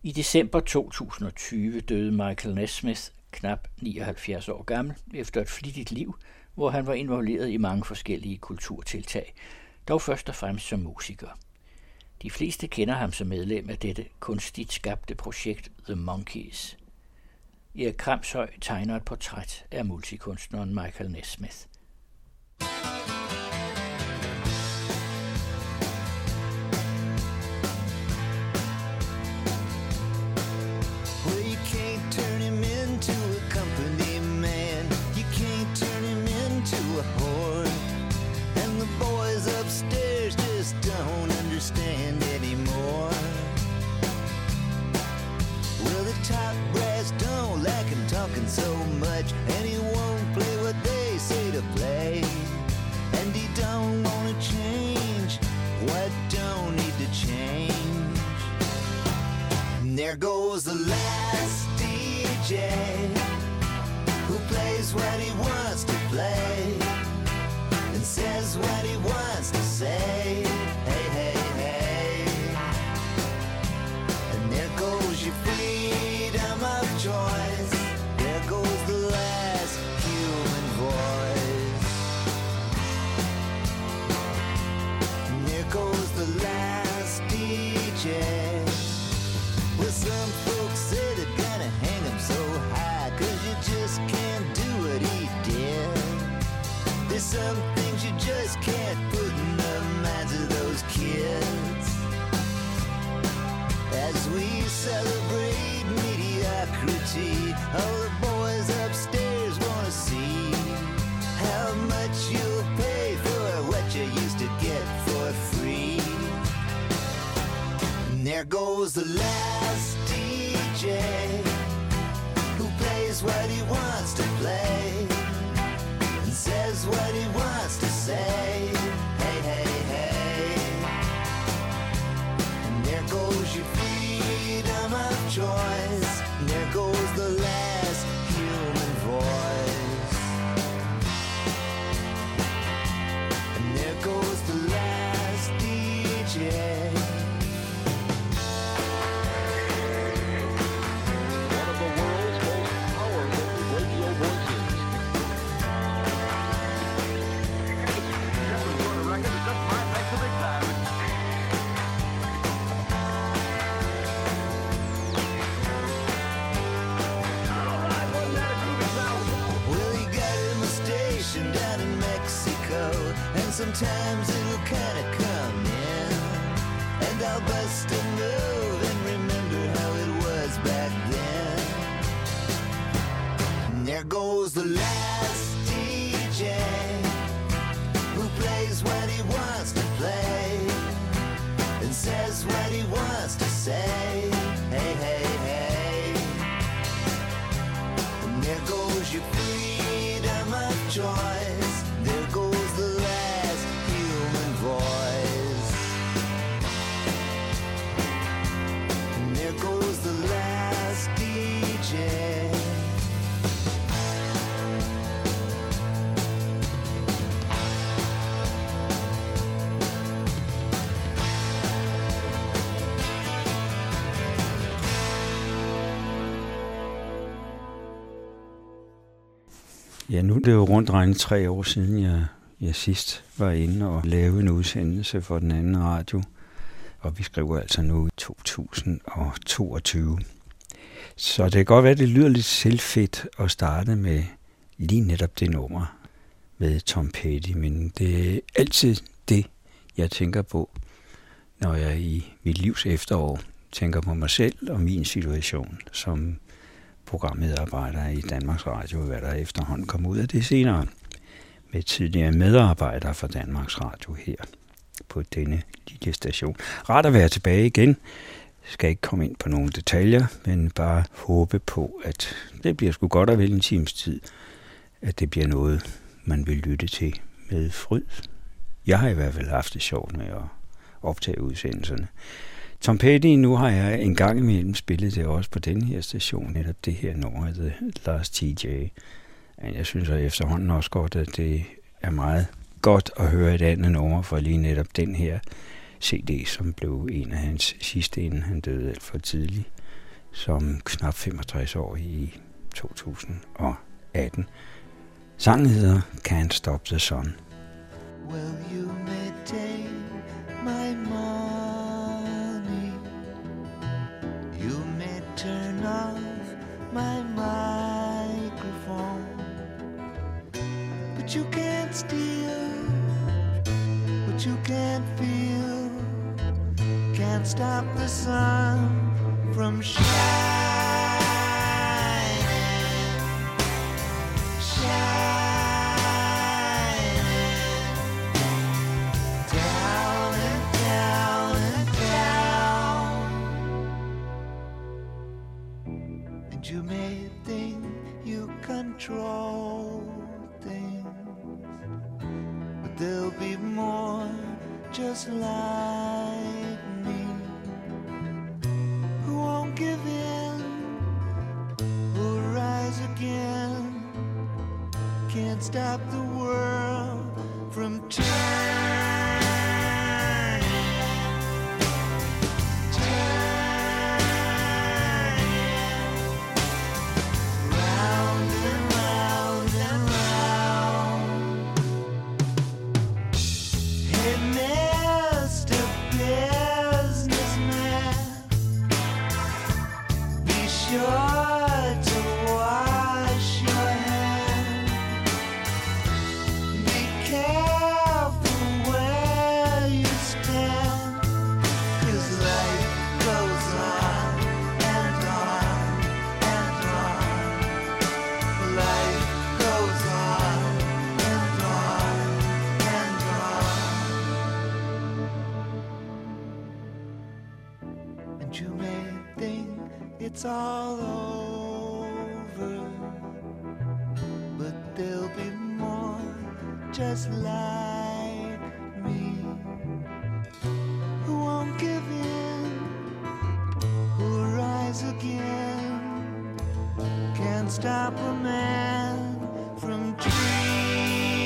I december 2020 døde Michael Nesmith, knap 79 år gammel, efter et flittigt liv, hvor han var involveret i mange forskellige kulturtiltag, dog først og fremmest som musiker. De fleste kender ham som medlem af dette kunstigt skabte projekt The Monkees. Erik Kramshøj tegner et portræt af multikunstneren Michael Nesmith. Top brass don't like him talking so much, and he won't play what they say to play, and he don't wanna change what don't need to change. And there goes the last DJ who plays what he wants to play and says what he wants to say. Hey, hey, hey. And there goes your freedom of choice. There goes the last human voice. And there goes the last DJ. Well, some folks say they're gonna hang him so high, 'cause you just can't do what he did. There's some things you just can't put in the minds of those kids. As we celebrate mediocrity, all the boys upstairs wanna see how much you'll pay for what you used to get for free. And there goes the last DJ who plays what he wants to play and says what he wants to say. Hey, hey, hey. And there goes your freedom of choice. And there goes the last human voice. And there goes the last DJ. One of the world's most powerful radio voices. Well, he got him a station down in Mexico, and sometimes it'll kinda come in, and I'll bust a move and remember how it was back then. And there goes the last DJ who plays what he wants to play and says what he wants to say. Hey, hey, hey. And there goes your freedom of choice. There goes the last human voice. And there goes the last DJ. Ja, nu er det jo rundt regnet 3 år siden, jeg sidst var inde og lavede en udsendelse for den anden radio. Og vi skriver altså nu i 2022. Så det kan godt være, at det lyder lidt selvfedt at starte med lige netop det nummer med Tom Petty. Men det er altid det, jeg tænker på, når jeg i mit livs efterår tænker på mig selv og min situation som programmedarbejder i Danmarks Radio, hvad der efterhånden kom ud af det senere, med tidligere medarbejdere for Danmarks Radio her på denne lille station. Rart at være tilbage igen. Jeg skal ikke komme ind på nogle detaljer, men bare håbe på, at det bliver sgu godt og vel en times tid, at det bliver noget, man vil lytte til med fryd. Jeg har i hvert fald haft det sjovt med at optage udsendelserne. Tom Petty, nu har jeg en gang imellem spillet det også på denne her station, netop det her nummer, The Last TJ. Men jeg synes efterhånden også godt, at det er meget godt at høre et andet nummer for lige netop den her CD, som blev en af hans sidste, inden han døde alt for tidligt. som knap 65 år i 2018. Sangen hedder Can't Stop the Sun. Well, you may take my money, you may turn off my microphone, but you can't steal what you can't feel, can't stop the sun from shining. You may think you control things, but there'll be more just like me, who won't give in, who'll rise again, can't stop the world from turning. You may think it's all over, but there'll be more just like me, who won't give in, who'll rise again, can't stop a man from dreaming.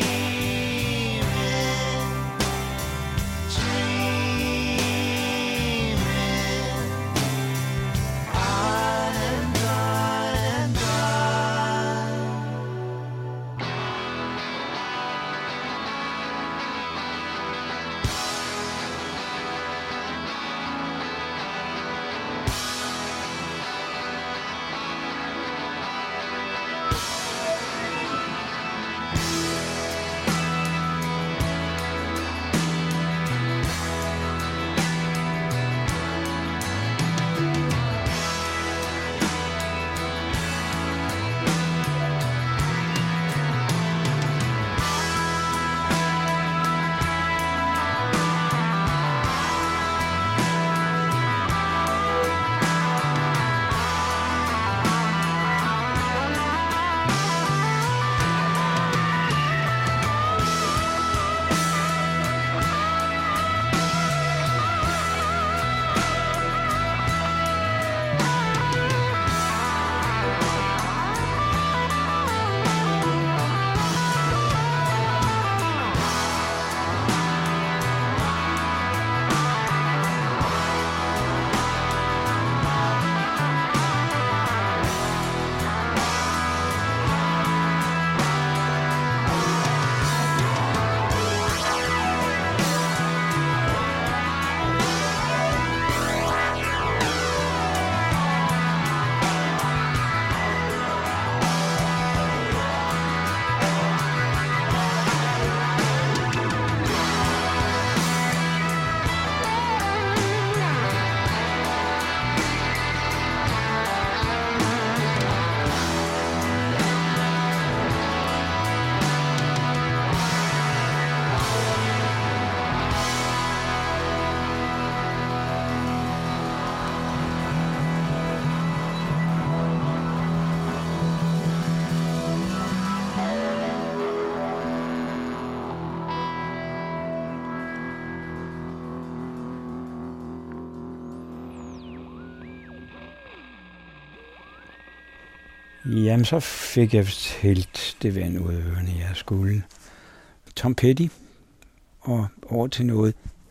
Jamen, så fik jeg helt det vand ud af ørerne, jeg skulle. Tom Petty, og over til noget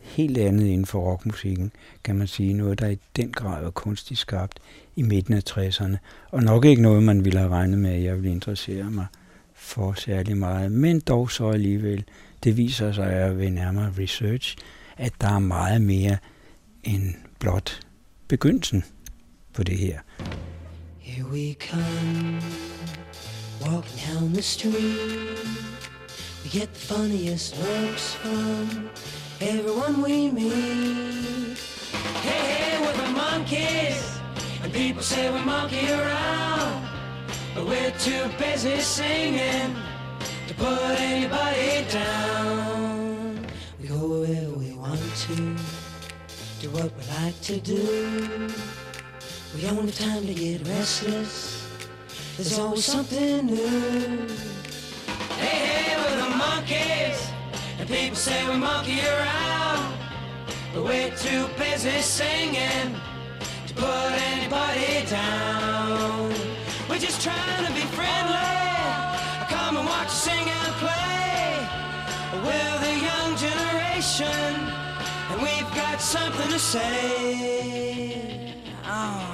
helt andet inden for rockmusikken, kan man sige. Noget, der i den grad var kunstigt skabt i midten af 60'erne. Og nok ikke noget, man ville have regnet med, at jeg ville interessere mig for særlig meget. Men dog så alligevel, det viser sig ved nærmere research, at der er meget mere end blot begyndelsen på det her. Here we come, walking down the street. We get the funniest looks from everyone we meet. Hey, hey, we're the monkeys, and people say we monkey around, but we're too busy singing to put anybody down. We go where we want to, do what we like to do. We don't have time to get restless, there's always something new. Hey, hey, we're the monkeys, and people say we monkey around, but we're too busy singing to put anybody down. We're just trying to be friendly, come and watch us sing and play. We're the young generation, and we've got something to say. Oh.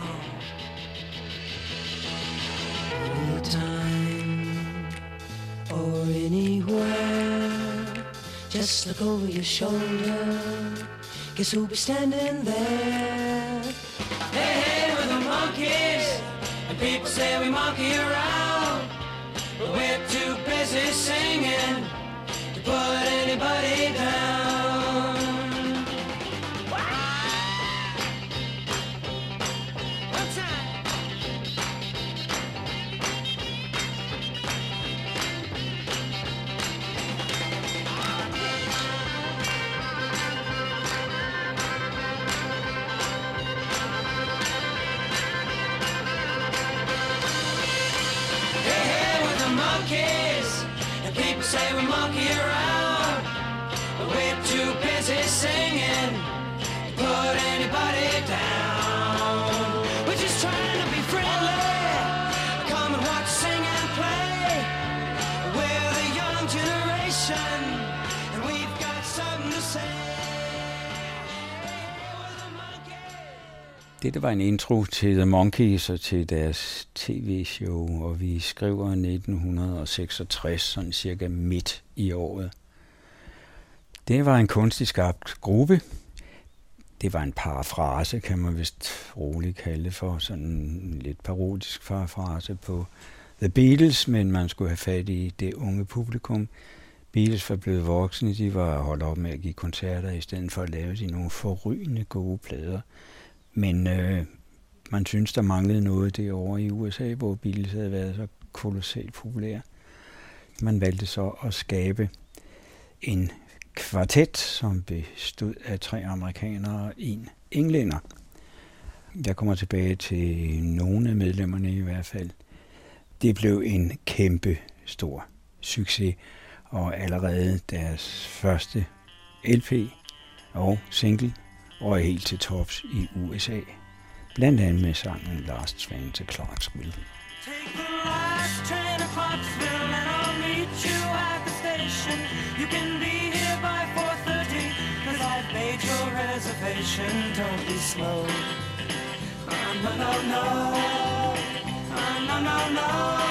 Anytime or anywhere, just look over your shoulder, guess who'll be standing there? Hey, hey, we're the monkeys, and people say we monkey around, but we're too busy singing to put anybody down. One time. And people say we monkey around, but we're too busy singing to put anybody down. We're just trying to be friendly, come and watch, sing and play. We're the young generation, and we've got something to say. Dette var en intro til The Monkees og til deres tv-show, og vi skriver 1966, sådan cirka midt i året. Det var en kunstigt skabt gruppe. Det var en parafrase, kan man vist roligt kalde for, sådan en lidt parodisk parafrase på The Beatles, men man skulle have fat i det unge publikum. Beatles var blevet voksne, de var holdt op med at give koncerter, i stedet for at lave de nogle forrygende gode plader. Men man synes, der manglede noget derovre i USA, hvor Beatles havde været så kolossalt populære. Man valgte så at skabe en kvartet, som bestod af 3 amerikanere og 1 englænder. Jeg kommer tilbage til nogle af medlemmerne i hvert fald. Det blev en kæmpe stor succes, og allerede deres første LP og single og helt til tops i USA. Blandt andet med sangen Last Train to Clarksville. Take the last train to Clarksville and I'll meet you at the station. You can be here by 4:30 cause I've made your reservation. Don't be slow. No, no, no. No, no, no.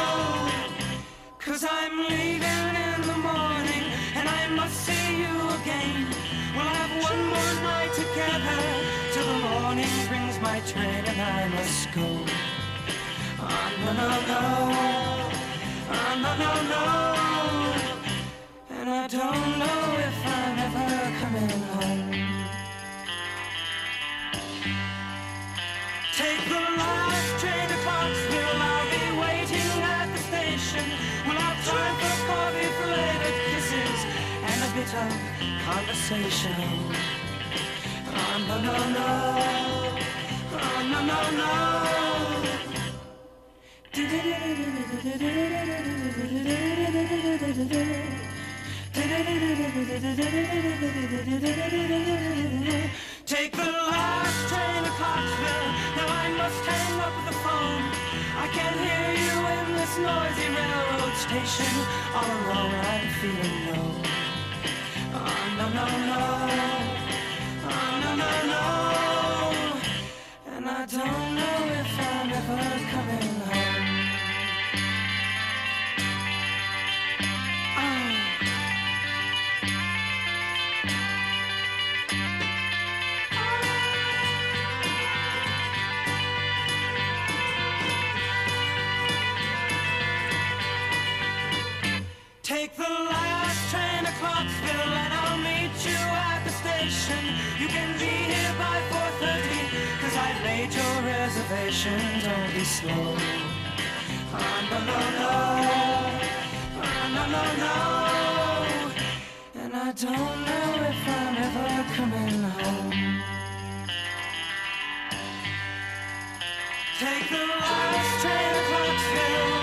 Cause I'm leaving in the morning and I must see you again. We'll have one more night together till the morning brings my train and I must go. No, no, no. No, no, no. And I don't know if I'm ever coming home. Take the last train to Clarksville. I'll be waiting at the station. We'll have time for coffee, flavored kisses, and a bit of conversation. No, no, no. No, no, no. Take the last train to Clarksville. Now I must hang up the phone. I can't hear you in this noisy railroad station. All alone I'm feeling low. No, no, no. no, no. And I don't know if I'm ever coming home. Take the last train to Clarksville and I'll meet you at the station. You can be here by 4:30, 'cause I've made your reservation. Don't be slow. No, no, no. No, no, no. And I don't know if I'm ever coming home. Take the last train to Clarksville.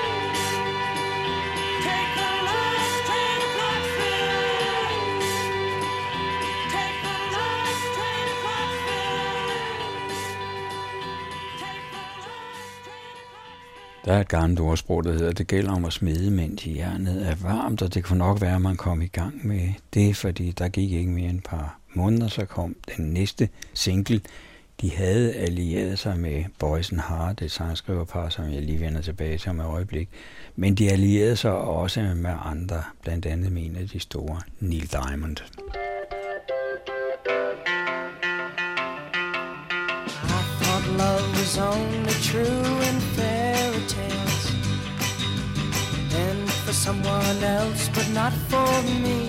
Der er et gammelt ordsprog, der hedder, det gælder om at smede, mens jernet er varmt, og det kunne nok være, at man kom i gang med det, fordi der gik ikke mere end et par måneder, så kom den næste single. De havde allieret sig med Boyce & Hart, et sangskriverpar, som jeg lige vender tilbage til om et øjeblik, men de allierede sig også med andre, blandt andet med en af de store, Neil Diamond. Love was only true in fairy tales, and for someone else, but not for me.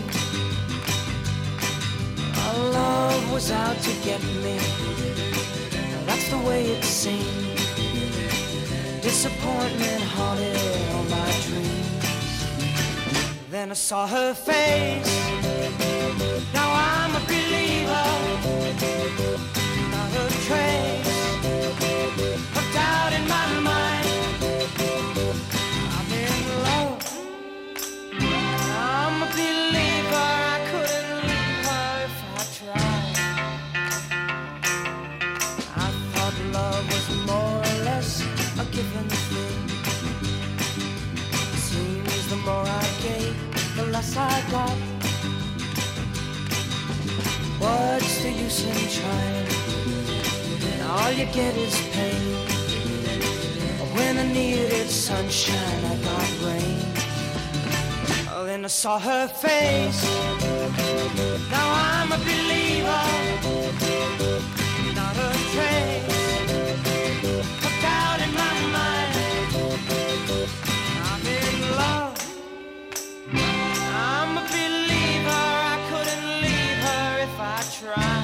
Our love was out to get me. That's the way it seemed. Disappointment haunted all my dreams. Then I saw her face. Now I'm a believer. Not a trace of doubt in my mind. I'm in love. I'm a believer. I couldn't leave her if I tried. I thought love was more or less a given thing. Seems the more I gave, the less I got. What's the use in trying? All you get is pain. When I needed sunshine, I got rain. Oh, then I saw her face. Now I'm a believer. Not a trace of doubt in my mind. I'm in love. I'm a believer. I couldn't leave her if I tried.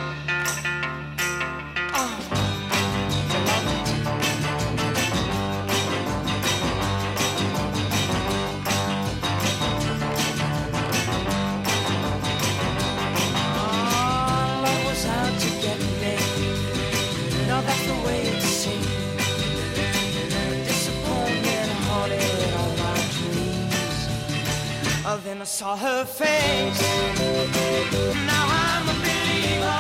That's the way it seemed. Disappointment haunted all my dreams. Oh, then I saw her face. Now I'm a believer.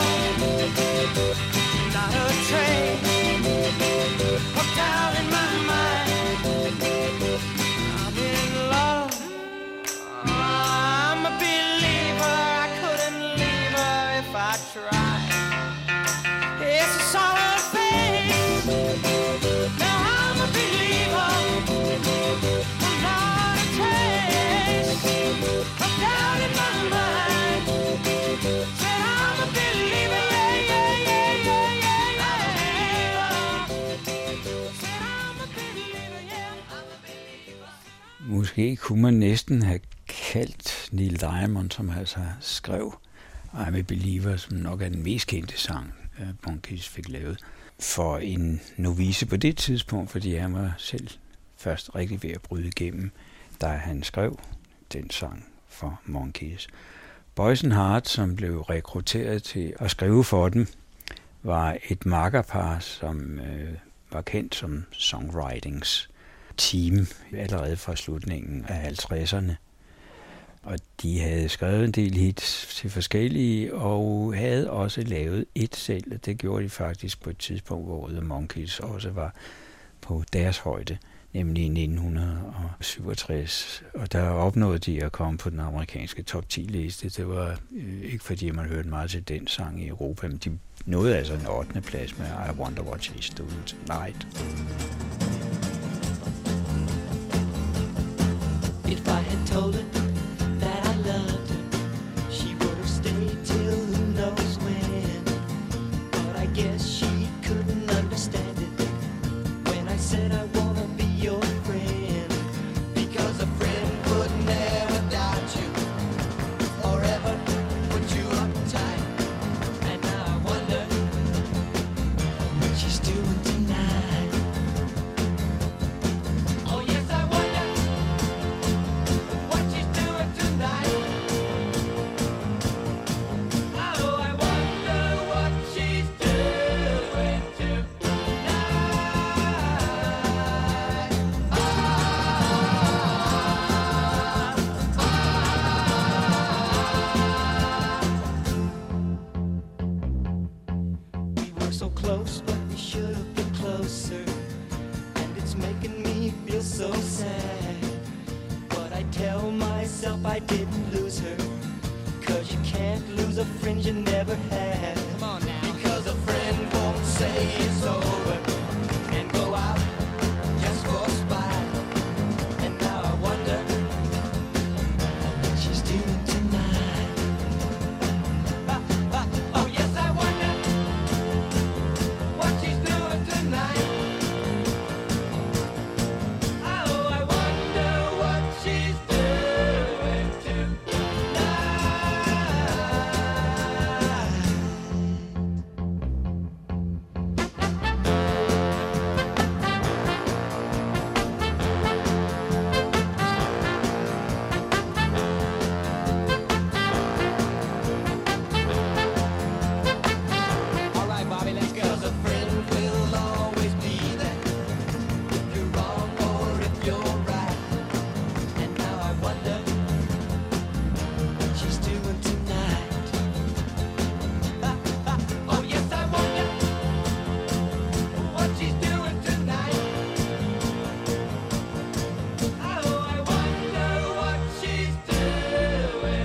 Not a trace of doubt in my mind. I'm in love. I'm a believer. I couldn't leave her if I tried. Yes, I saw her face. Now I'm a believer. I'm not a trace of doubt in my mind. Said I'm a believer, yeah, yeah, yeah, yeah, yeah, yeah. Said I'm a believer, yeah, I'm a believer. Måske kunne man næsten have kaldt Neil Diamond, som altså skrev I'm a Believer, som nok er den mest kendte sang, Monkees fik lavet, for en novice på det tidspunkt, fordi han var selv først rigtig ved at bryde igennem, da han skrev den sang for Monkees. Boyce & Hart, som blev rekrutteret til at skrive for dem, var et makkerpar, som var kendt som songwritings team allerede fra slutningen af 50'erne. Og de havde skrevet en del hits til forskellige, og havde også lavet et selv, og det gjorde de faktisk på et tidspunkt, hvor The Monkees også var på deres højde. nemlig i 1967. Og der opnåede de at komme på den amerikanske top 10-liste. Det var ikke fordi, man hørte meget til den sang i Europa, men de nåede altså en 8. plads med I Wonder What She's Doing Tonight. If I had told her that I loved her, she would have stayed till who knows when. But I guess she couldn't understand it when I said I wanna be your friend. Because a friend would never doubt you or ever put you uptight. And now I wonder what she's doing tonight. Oh yes, I wonder what she's doing tonight. Oh, I wonder what she's doing We were so close, but we should have been closer. And it's making me feel so sad. But I tell myself I didn't lose her. 'Cause you can't lose a friend you never had. Come on now. Because a friend won't say it's over and go out just for spite. And now I wonder what she's doing tonight. Oh yes, I wonder what she's doing tonight. Oh, I wonder what she's doing tonight. All right, Bobby, let's go. 'Cause a friend will always be there if you're wrong or if you're right. And now I wonder what she's doing tonight. Oh yes, I wonder what she's doing tonight. Oh, I wonder what she's doing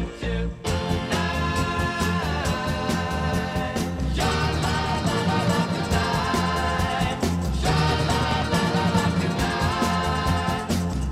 tonight. Sha-la-la-la-la tonight. Sha-la-la-la-la tonight.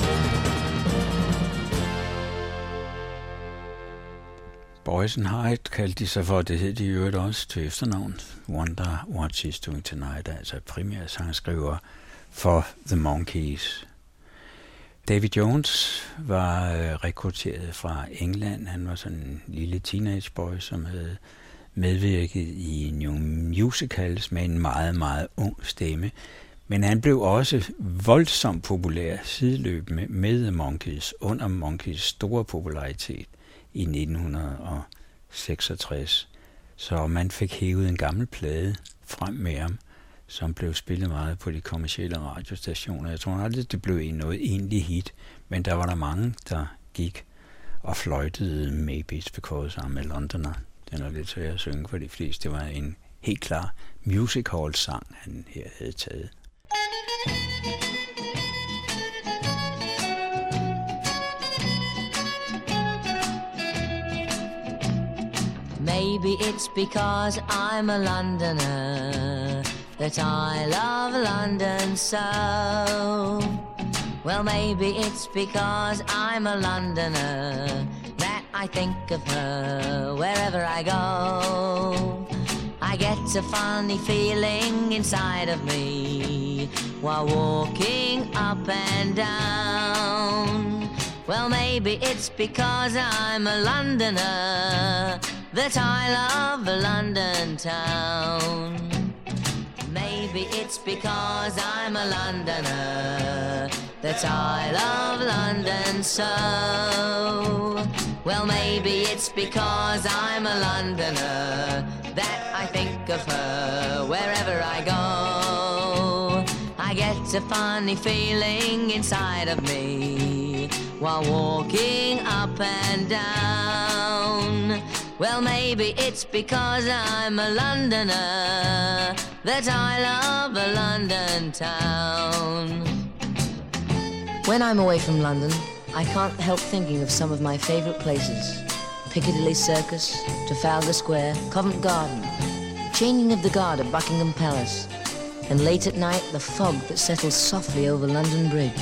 Boys and Hyde kaldte de sig for, det hed de i øvrigt også til efternavn. Wonder What She's Doing Tonight, altså primær sangskriver for The Monkees. David Jones var rekrutteret fra England. Han var sådan en lille teenageboy, som havde medvirket i nogle musicals med en meget, meget ung stemme. Men han blev også voldsomt populær sideløbende med The Monkees under Monkees store popularitet i 1966. Så man fik hævet en gammel plade frem med ham, som blev spillet meget på de kommercielle radiostationer. Jeg tror aldrig, det blev noget egentlig hit, men der var der mange, der gik og fløjtede Maybe It's Because I'm a Londoner. Den er lidt svær at synge for de fleste. Det var en helt klar music hall sang, han her havde taget. Maybe it's because I'm a Londoner that I love London so. Well, maybe it's because I'm a Londoner that I think of her wherever I go. I get a funny feeling inside of me while walking up and down. Well, maybe it's because I'm a Londoner that I love London town. Maybe it's because I'm a Londoner that I love London so. Well, maybe it's because I'm a Londoner that I think of her wherever I go. I get a funny feeling inside of me while walking up and down. Well, maybe it's because I'm a Londoner that I love a London town. When I'm away from London, I can't help thinking of some of my favourite places. Piccadilly Circus, Trafalgar Square, Covent Garden, changing of the guard at Buckingham Palace, and late at night, the fog that settles softly over London Bridge.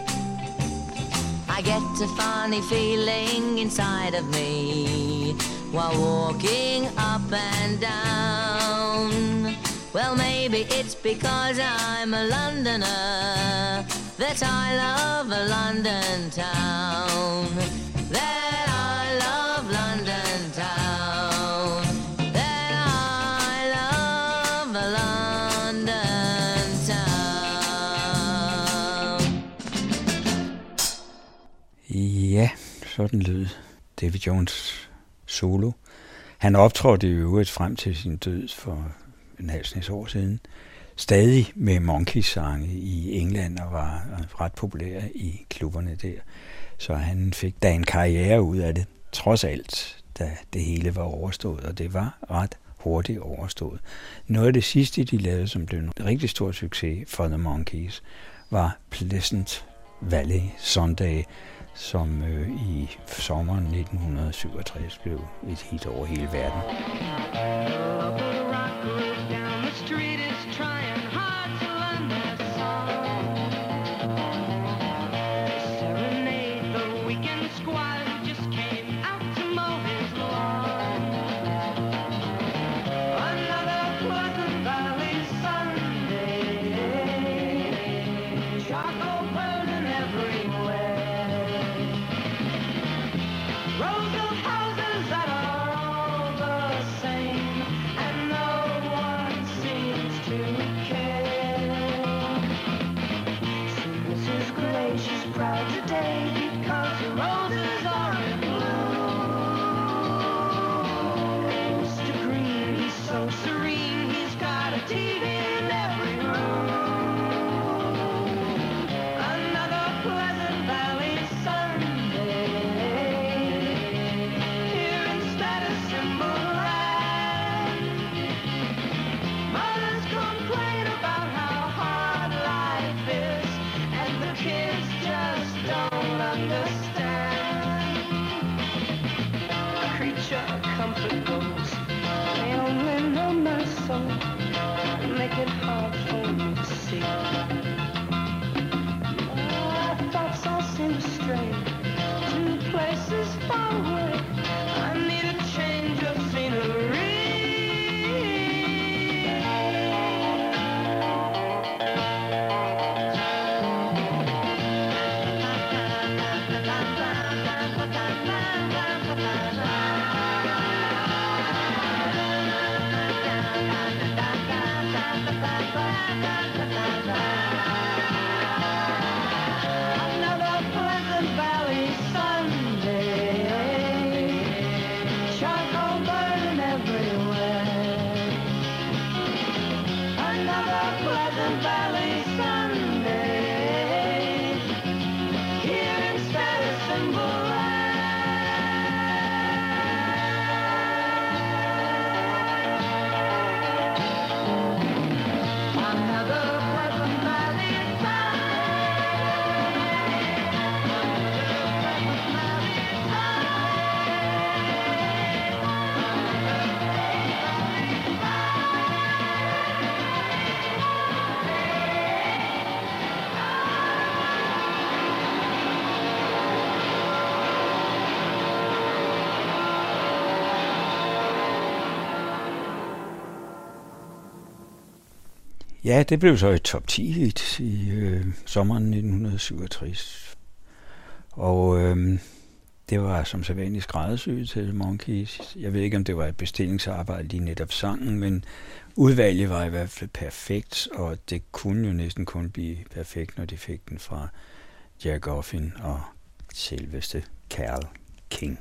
I get a funny feeling inside of me while walking up and down. Well, maybe it's because I'm a Londoner that I love a London town. That I love London town. That I love a London town. Ja, sådan lød Davy Jones solo. Han optrådte i øvrigt frem til sin død for en halv snes år siden. Stadig med Monkees-sange i England og var ret populær i klubberne der. Så han fik da en karriere ud af det, trods alt, da det hele var overstået, og det var ret hurtigt overstået. Noget af det sidste, de lavede, som blev en rigtig stor succes for The Monkees, var Pleasant Valley Sunday, som i sommeren 1967 blev et hit over hele verden. Ja, det blev så et top 10 hit i sommeren 1967. Og det var som sædvanligt skræddersyet til Monkees. Jeg ved ikke, om det var et bestillingsarbejde lige netop sangen, men udvalget var i hvert fald perfekt, og det kunne jo næsten kun blive perfekt, når de fik den fra Jack Goffin og selveste Carole King.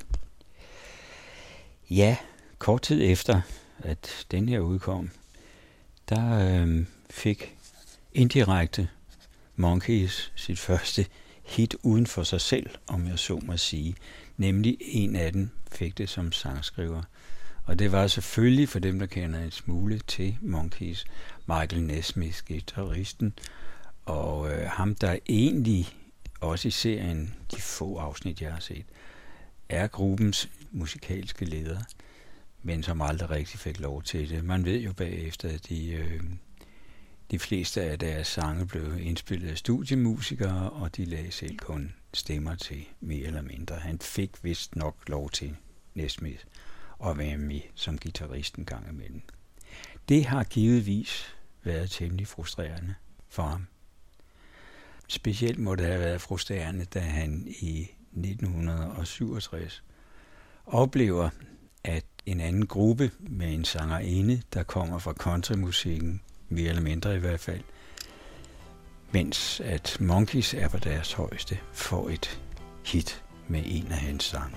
Ja, kort tid efter, at den her udkom, der fik indirekte Monkees sit første hit uden for sig selv, om jeg så må sige. Nemlig en af dem fik det som sangskriver. Og det var selvfølgelig, for dem, der kender en smule til Monkees, Michael Nesmith, guitaristen, og ham, der egentlig også i serien, de få afsnit, jeg har set, er gruppens musikalske leder, men som aldrig rigtig fik lov til det. Man ved jo bagefter, at de fleste af deres sange blev indspillet af studiemusikere, og de lagde selv kun stemmer til mere eller mindre. Han fik vist nok lov til Nesmith at være med som guitarist en gang imellem. Det har givetvis været temmelig frustrerende for ham. Specielt må det have været frustrerende, da han i 1967 oplever, at en anden gruppe med en sangerinde, der kommer fra countrymusikken, mere eller mindre i hvert fald, mens at Monkees er på deres højeste, får et hit med en af hans sange.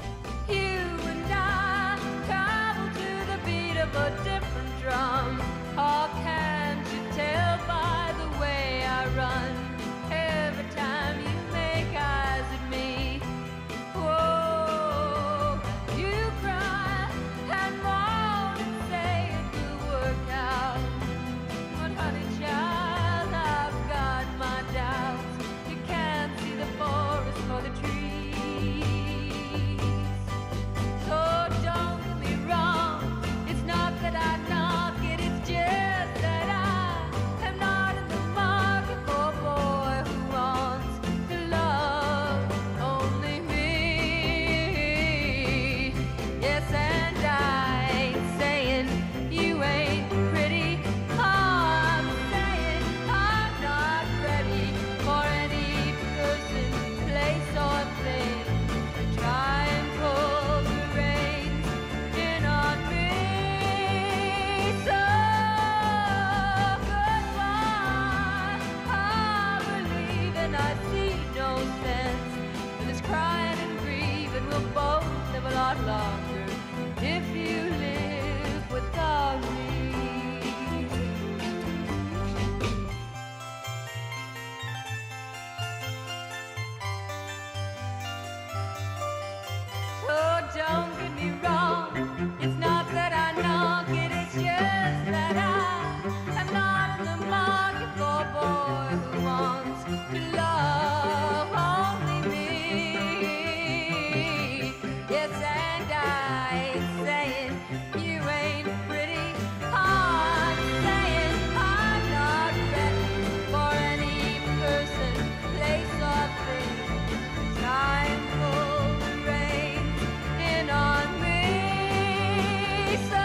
Drum. Oh, can't you tell by the way I run? Every time you make eyes at me, whoa, you cry and moan and say it will work out. But honey child, I've got my doubts. You can't see the forest for the trees. So don't get me wrong, it's not that I knock it, it's just that I am not in the market for a boy who wants to love only me. Yes, and I ain't saying you ain't pretty. I'm saying I'm not ready for any person, place or thing to try and pull the reins in on me. So goodbye, I believe and I see no sense in this crying and grieving. We'll both live a lot longer if you live without me. So don't get me wrong, it's not that I knock it, it's just that I'm not in the market for a boy who wants to love only me. Yes, and I ain't saying you ain't pretty. I'm saying I'm not ready for any person, place or thing to try and pull the reins in on me. So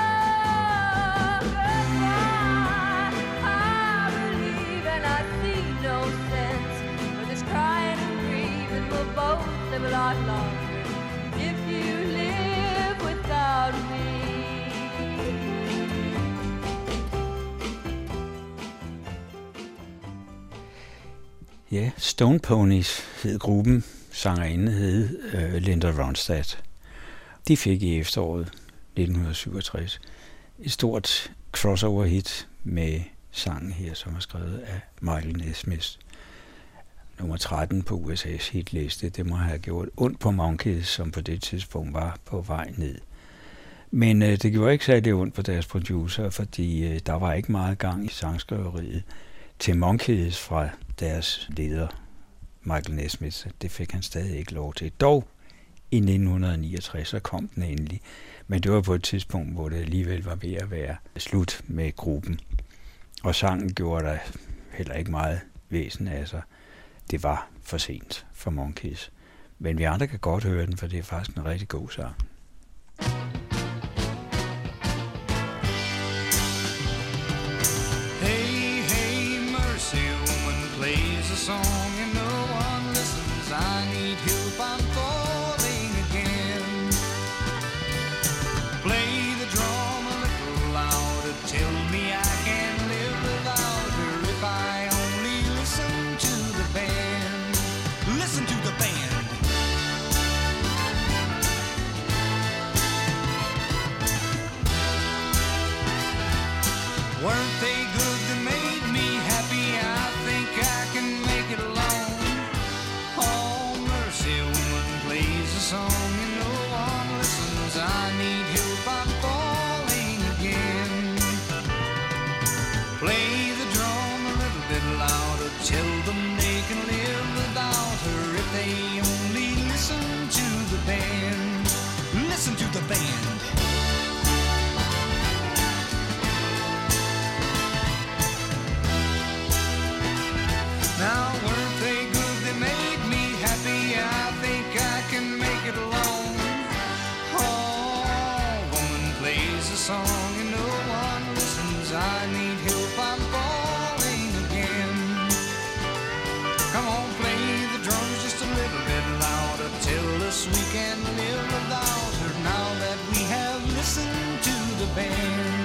goodbye, I believe and I see no sense for this crying and grieving. We'll both live a lot longer if you live without me. Ja, Stone Ponies hed gruppen. Sangerinde hed Linda Ronstadt. De fik i efteråret 1967 et stort crossover-hit med sangen her, som er skrevet af Michael Nesmith. Nummer 13 på USA's hitliste. Det må have gjort ondt på Monkees, som på det tidspunkt var på vej ned. Men det gjorde ikke særlig ondt på deres producer, fordi der var ikke meget gang i sangskriveriet til Monkees fra deres leder, Michael Nesmith. Det fik han stadig ikke lov til. Dog i 1969, så kom den endelig. Men det var på et tidspunkt, hvor det alligevel var ved at være slut med gruppen. Og sangen gjorde der heller ikke meget væsen af sig. Det var for sent for Monkees. Men vi andre kan godt høre den, for det er faktisk en rigtig god sang. Hey, hey, mercy, woman plays a song and no one listens. I need help, I'm falling again. Play the drum a little louder, tell me I can live without her if I only listen to the band. Listen to the band. Weren't they good? They made me happy. I think I can make it alone. Oh, mercy, woman plays a song and no one listens. I need help, I'm falling again. Play the drum a little bit louder, tell them they can live without they only listen to the band. Listen to the band. Now weren't they good? They made me happy. I think I can make it alone. Oh, woman plays a song and no one listens. I need help, I'm falling again. Come on, play the drums just a little bit louder. Tell us we can live without her now that we have listened to the band.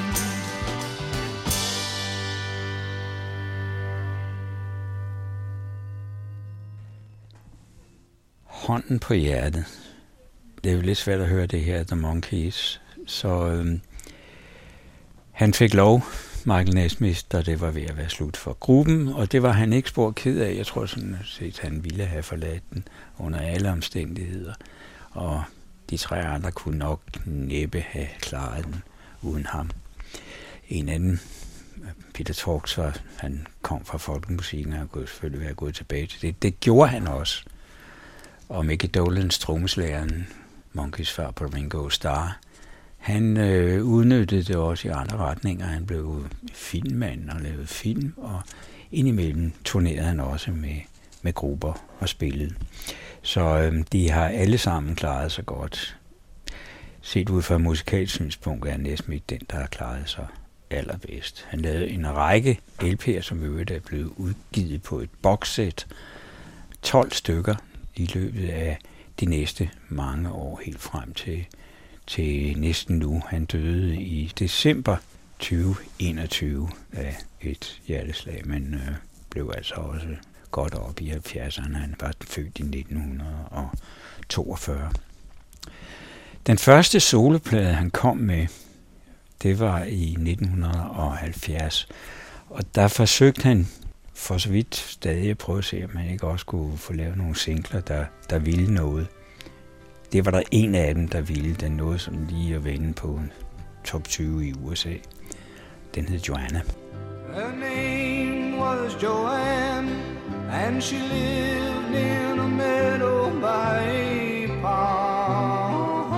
Hånden på hjertet. Det er jo lidt svært at høre det her, The Monkees. Så han fik lov, Michael Nesmith, da det var ved at være slut for gruppen, og det var han ikke spor ked af. Jeg tror sådan set, han ville have forladt den under alle omstændigheder. Og de 3 andre kunne nok næppe have klaret den uden ham. En anden, Peter Torx, han kom fra folkemusikken, og han kunne selvfølgelig være gået tilbage til det. Det gjorde han også. Og Mickey Dolans, trommeslageren, Monkees far på Ringo Starr, han udnyttede det også i andre retninger. Han blev filmmand og lavede film, og indimellem turnerede han også med grupper og spillede. Så de har alle sammen klaret sig godt. Set ud fra musikalsk synspunkt er Nesmith den, der har klaret sig allerbedst. Han lavede en række LP'er, som øvrigt er blevet udgivet på et boxsæt. 12 stykker i løbet af de næste mange år, helt frem til næsten nu. Han døde i december 2021 af et hjerteslag, men blev altså også godt op i 70'erne. Han var født i 1942. Den første soloplade, han kom med, det var i 1970, og der forsøgte han for så vidt stadig at prøve at se, om man ikke også kunne få lavet nogle singler, der ville noget. Det var der en af dem, der ville. Den nåede som lige at vende på top 20 i USA. Den hed Joanna. Her name was Joanne, and she lived in a meadow by a pond.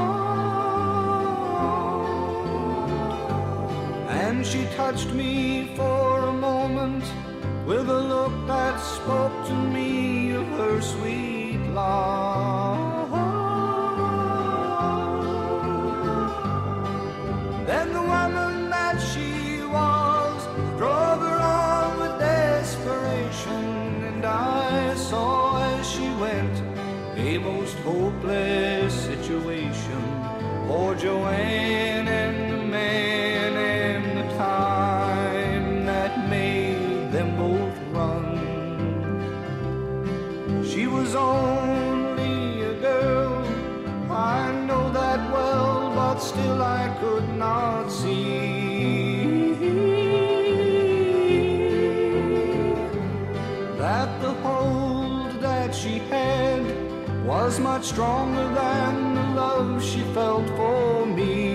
And she touched me for a moment with a look that spoke to me of her sweet love. Then the woman that she was drove her on with desperation, and I saw as she went a most hopeless situation for Joanne and the man and the time that made them both run. She was only a girl, I know that well, but still I could not see that the hold that she had was much stronger than the love she felt for me.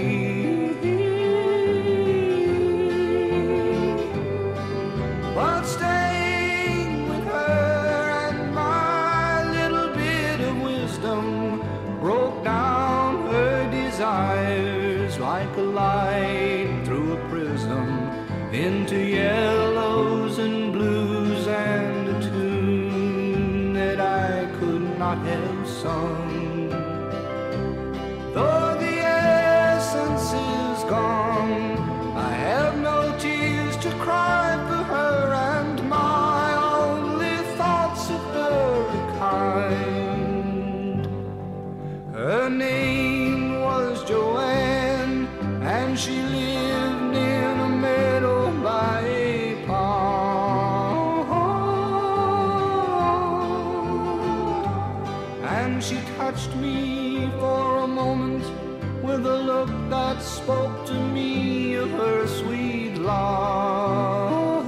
But staying with her and my little bit of wisdom broke down her desires like a light through a prism into yellows and blues and a tune that I could not have sung. Though the essence is gone, I have no tears to cry for her, and my only thoughts of her are kind. Her name was Joanne, and she lived in a meadow by a pond. And she touched me for a moment with a look that spoke to me of her sweet love.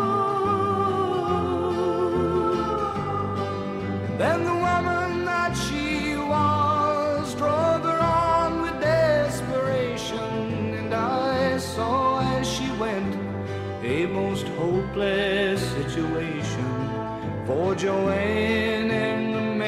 Then the woman that she was drove her on with desperation, and I saw as she went a most hopeless situation for Joanne and the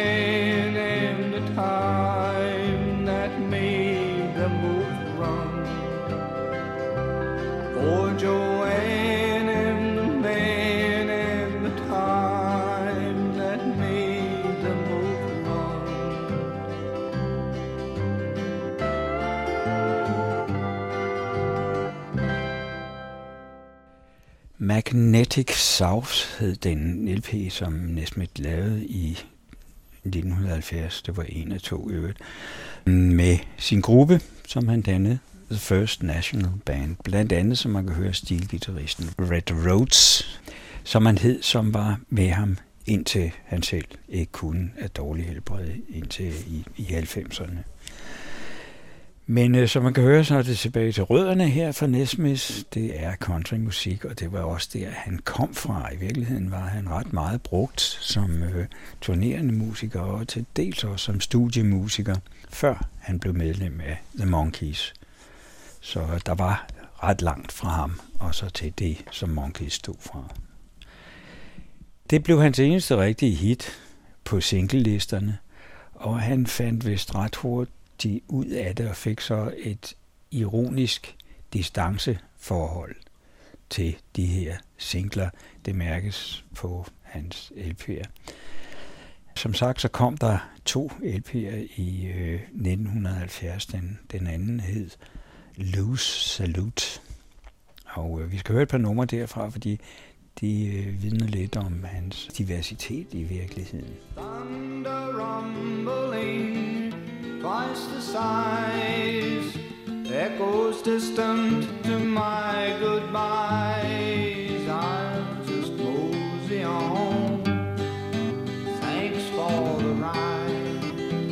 Magnetic South hed den LP, som Nesmith lavede i 1970. Det var en af to øvrigt. Med sin gruppe, som han dannede, The First National Band. Blandt andet, som man kan høre, stilgitarristen Red Rhodes, som han hed, som var med ham indtil han selv ikke kunne af dårlig helbred indtil i 90'erne. Men som man kan høre, så er det tilbage til rødderne her fra Nesmith. Det er countrymusik, og det var også der, han kom fra. I virkeligheden var han ret meget brugt som turnerende musiker, og til dels også som studiemusiker, før han blev medlem af The Monkees. Så der var ret langt fra ham, og så til det, som Monkees stod fra. Det blev hans eneste rigtige hit på singlelisterne, og han fandt vist ret hurtigt ud af det og fik så et ironisk distanceforhold til de her singler. Det mærkes på hans LP'er. Som sagt, så kom der 2 LP'er i 1970. Den anden hed Loose Salute. Og vi skal høre et par numre derfra, fordi de vidner lidt om hans diversitet i virkeligheden. Thunder rumbling, twice the size, echoes distant to my goodbyes. I'll just mosey on, thanks for the ride.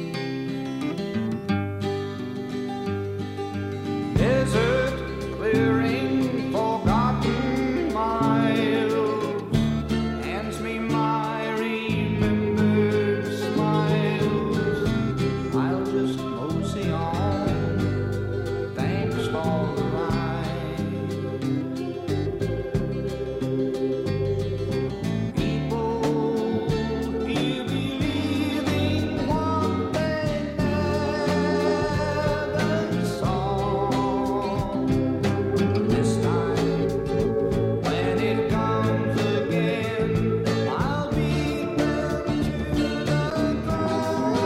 Desert clearing, forgotten miles, hands me my remembered smiles. I'll just mosey on, thanks for the ride. People, you believing what they never saw. This time, when it comes again, I'll beat them to the ground.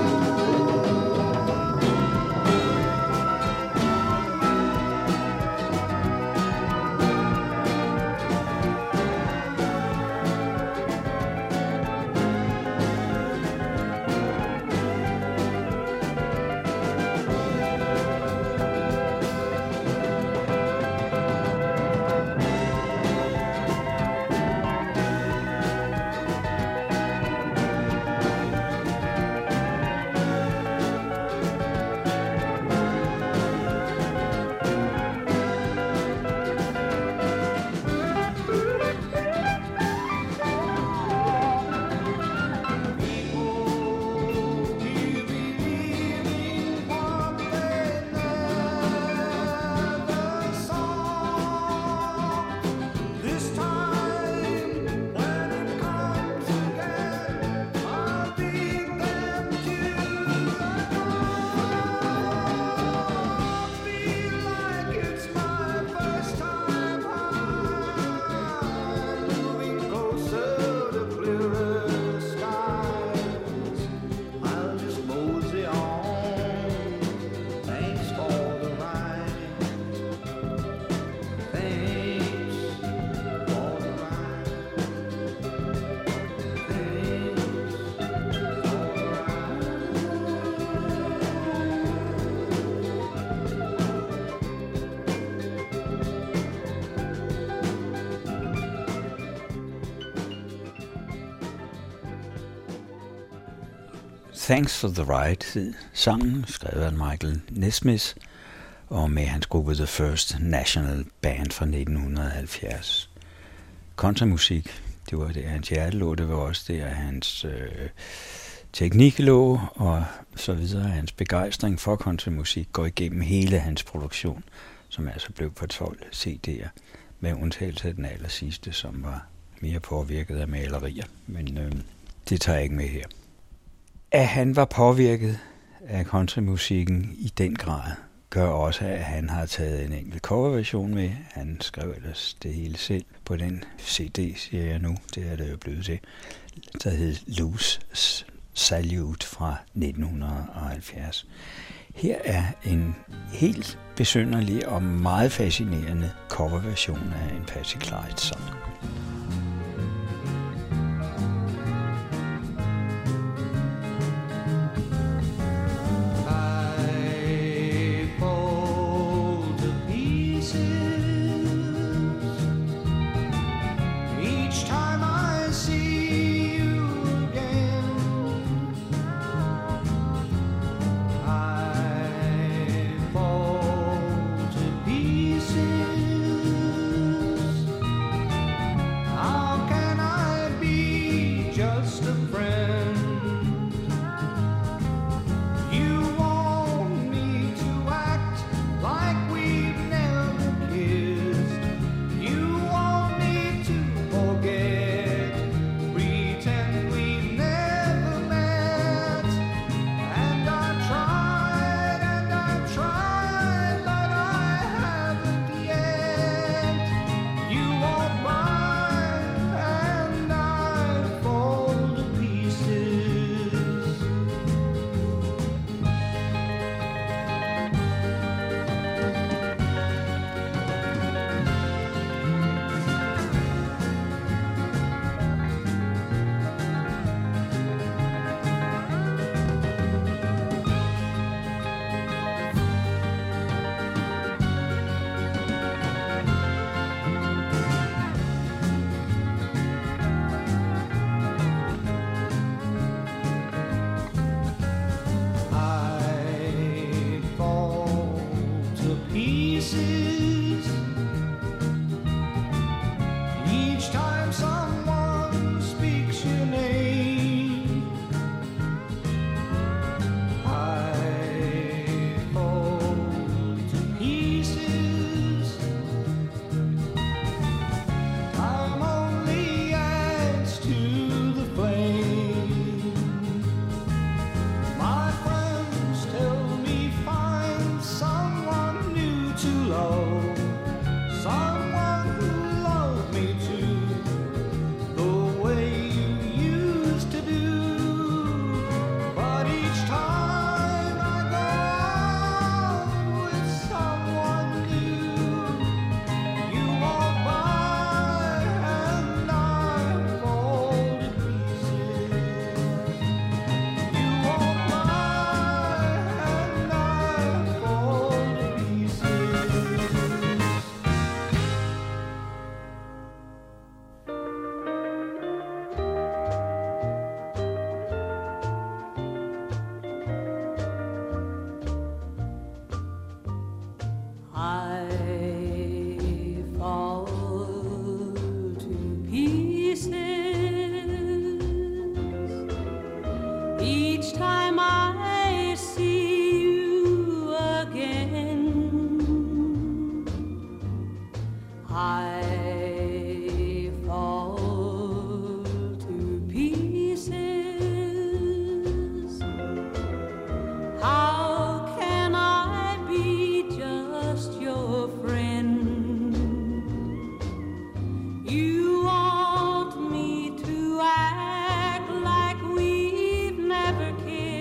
Thanks for the Ride hed sangen, skrevet af Michael Nesmith, og med hans gruppe The First National Band fra 1970. Countrymusik, det var der hans hjerte lå, det var også der hans teknik lå, og så videre. Hans begejstring for countrymusik går igennem hele hans produktion, som altså blev på 12 CD'er, med undtagelse af den aller sidste, som var mere påvirket af malerier, men det tager jeg ikke med her. At han var påvirket af countrymusikken i den grad, gør også, at han har taget en enkelt coverversion med. Han skrev ellers det hele selv på den CD, siger jeg nu. Det er det jo blevet til. Der hed Loose Salute fra 1970. Her er en helt besynderlig og meget fascinerende coverversion af en Patsy Cline-sang. I fall to pieces each time I see you again. I fall to pieces. How can I be just a friend? You want me to act like we've never kissed. You want me to forget, pretend we've never met. And I've tried, but I haven't yet. You walk by and I fall to pieces. I fall to pieces each time someone speaks your name. I fall to pieces. Time only adds to the flame. My friends tell me find someone new to love, someone who loved me too, the way you used to do. But each time I go out with someone new, you walk by and I fall to pieces. You walk by and I fall to pieces. I fall to pieces each time I see you again. I fall to pieces. How can I be just your friend? You want me to act like we've never kissed.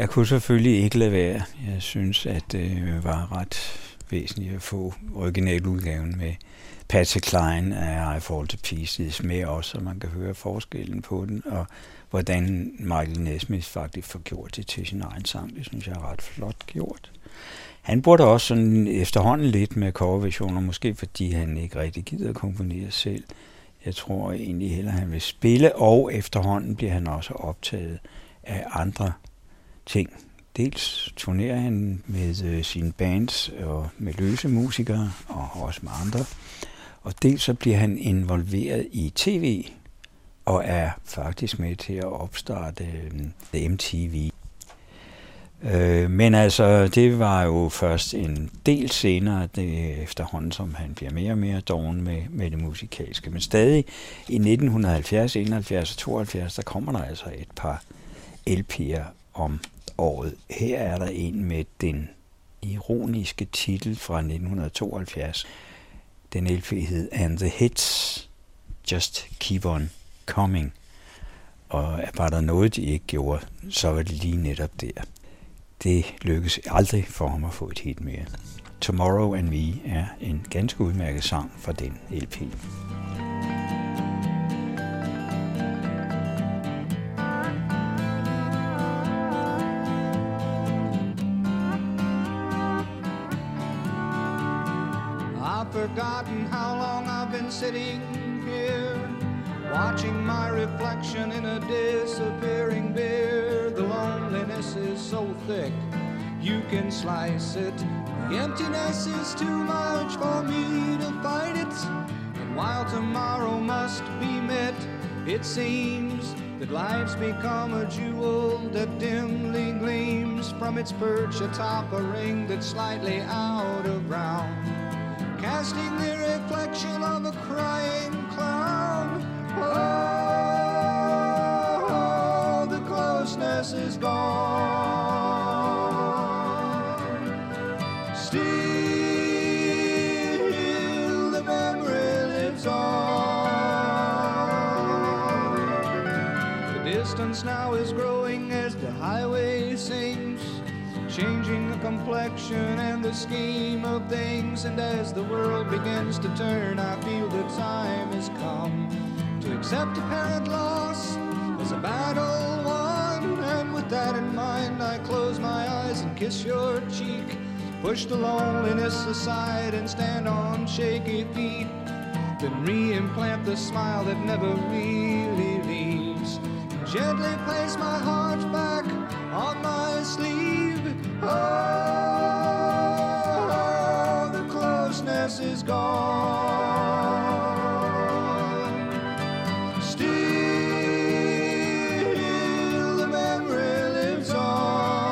jeg kunne selvfølgelig ikke lade være. Jeg synes, at det var ret væsentligt at få originaludgaven med Patsy Cline af I Fall to Pieces med også, så man kan høre forskellen på den, og hvordan Michael Nesmith faktisk får gjort det til sin egen sang. Det synes jeg er ret flot gjort. Han burde også sådan efterhånden lidt med coverversioner, måske fordi han ikke rigtig gider at komponere selv. Jeg tror egentlig heller, han vil spille, og efterhånden bliver han også optaget af andre ting. Dels turnerer han med sine bands og med løse musikere, og også med andre. Og dels så bliver han involveret i tv, og er faktisk med til at opstarte MTV. Men altså, det var jo først en del senere, efterhånden som han bliver mere og mere doven med det musikalske. Men stadig i 1970, 71 og 72, der kommer der altså et par LP'er om året. Her er der en med den ironiske titel fra 1972. Den LP hed And the Hits Just Keep On Coming. Og var der noget, de ikke gjorde, så var det lige netop der. Det lykkedes aldrig for ham at få et hit mere. Tomorrow and Me er en ganske udmærket sang fra den LP. I've forgotten how long I've been sitting here, watching my reflection in a disappearing beer. The loneliness is so thick, you can slice it. The emptiness is too much for me to fight it. And while tomorrow must be met, it seems that life's become a jewel that dimly gleams from its perch atop a ring that's slightly out of round, casting the reflection of a crying clown. Oh, the closeness is gone. Still, the memory lives on. The distance now is growing as the highway sings, changing the complexion and the scheme of things. And as the world begins to turn, I feel the time has come to accept apparent loss as a battle won. And with that in mind, I close my eyes and kiss your cheek, push the loneliness aside and stand on shaky feet, then re-implant the smile that never really leaves, gently place my heart back on my sleeve. Oh, the closeness is gone. Still, the memory lives on.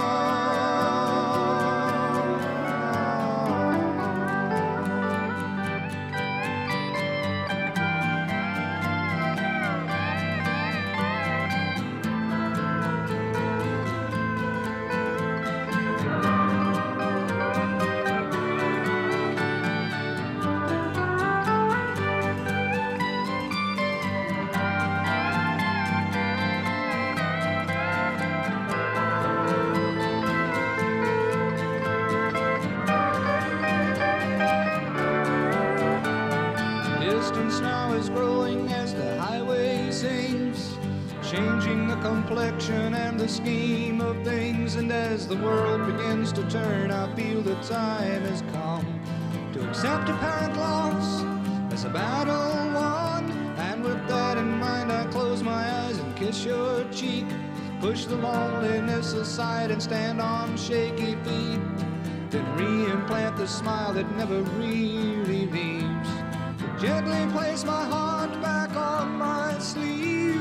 Complexion and the scheme of things. And as the world begins to turn, I feel the time has come to accept apparent loss as a battle won. And with that in mind, I close my eyes and kiss your cheek, push the loneliness aside and stand on shaky feet, then re-implant the smile that never really leaves, gently place my heart back on my sleeve.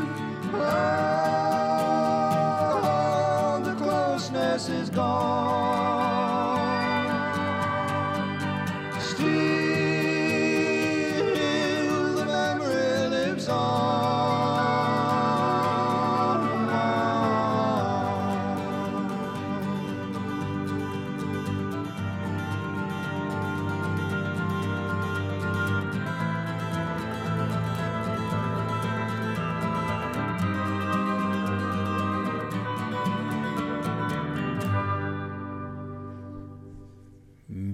Oh, the closeness is gone. Still, the memory lives on.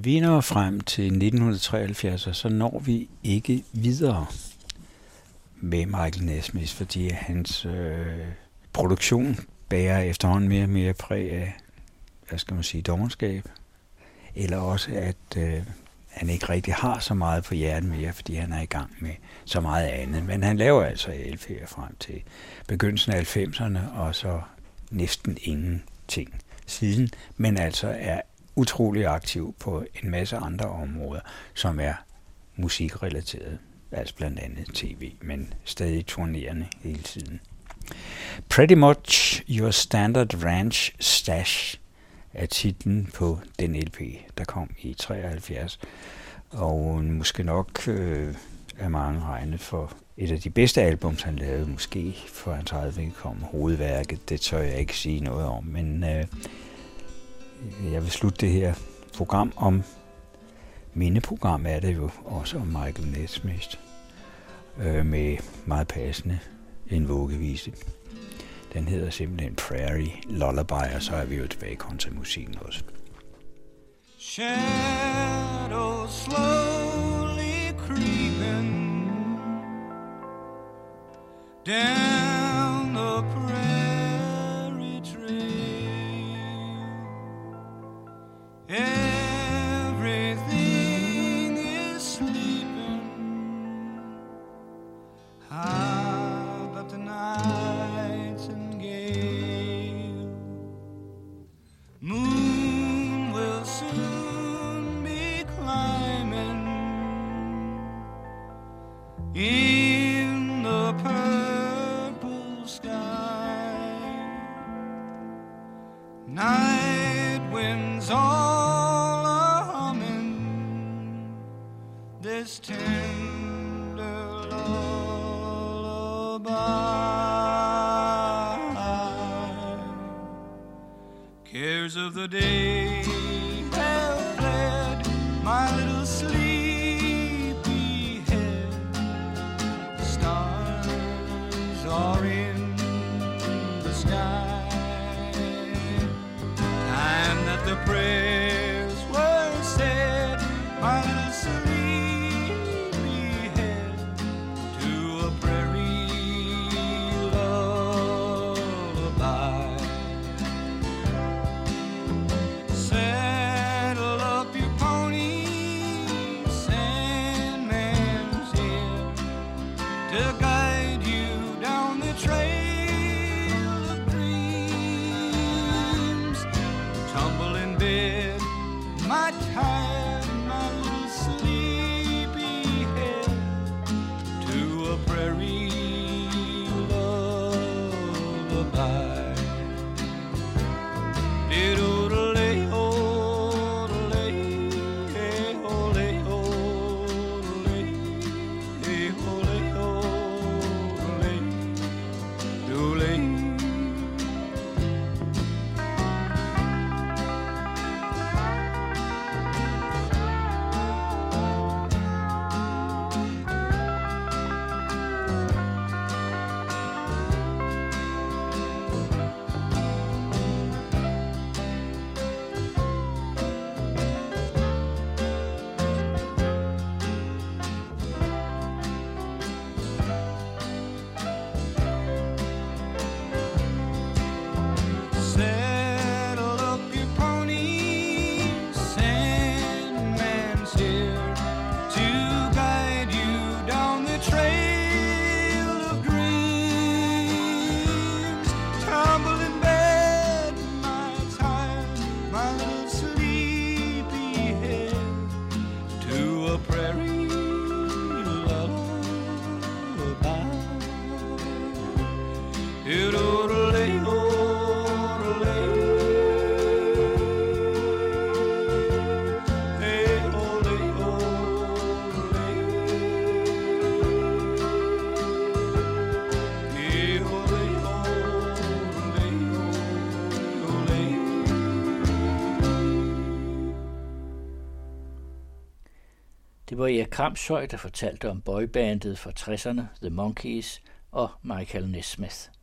Vi når frem til 1973, og så når vi ikke videre med Michael Nesmith, fordi hans produktion bærer efterhånden mere og mere præg af, hvad skal man sige, dovenskab. Eller også, at han ikke rigtig har så meget på hjertet mere, fordi han er i gang med så meget andet. Men han laver altså LP'er frem til begyndelsen af 90'erne, og så næsten ingenting siden, men altså er utrolig aktiv på en masse andre områder, som er musikrelateret, altså blandt andet tv, men stadig turnerende hele tiden. Pretty Much Your Standard Ranch Stash er titlen på den LP, der kom i 73, og måske nok er mange regnet for et af de bedste albums, han lavede, måske for hans eget vedkommende hovedværket. Det tør jeg ikke sige noget om, men jeg vil slutte det her program om, mindeprogram er det jo også om Michael Nesmith, med meget passende en vuggevise. Den hedder simpelthen Prairie Lullaby, og så er vi jo tilbage i countrymusikken også. Shadows slowly creeping down the prairie trail. Everything is sleeping. How about the nights and gale? Moon will soon be climbing in the purple sky. Night winds all a-humming this tender lullaby. Cares of the day have fled my little sleepy head. Stars are in the sky. Time that the prayers were said, my little sleepy head, to a prairie lullaby. Saddle up your pony, Sandman's here to guide you down the trail of dreams. Tumble in bed, my tired, my little sleepy head, to a prairie lullaby. Saddle up your pony, Sandman's here to guide you down the trail of dreams. Tumble in bed, my tired, my little sleepy head, to a prairie lullaby. Det var Erik Kramshøj, der fortalte om boybandet fra 60'erne, The Monkees og Michael Nesmith.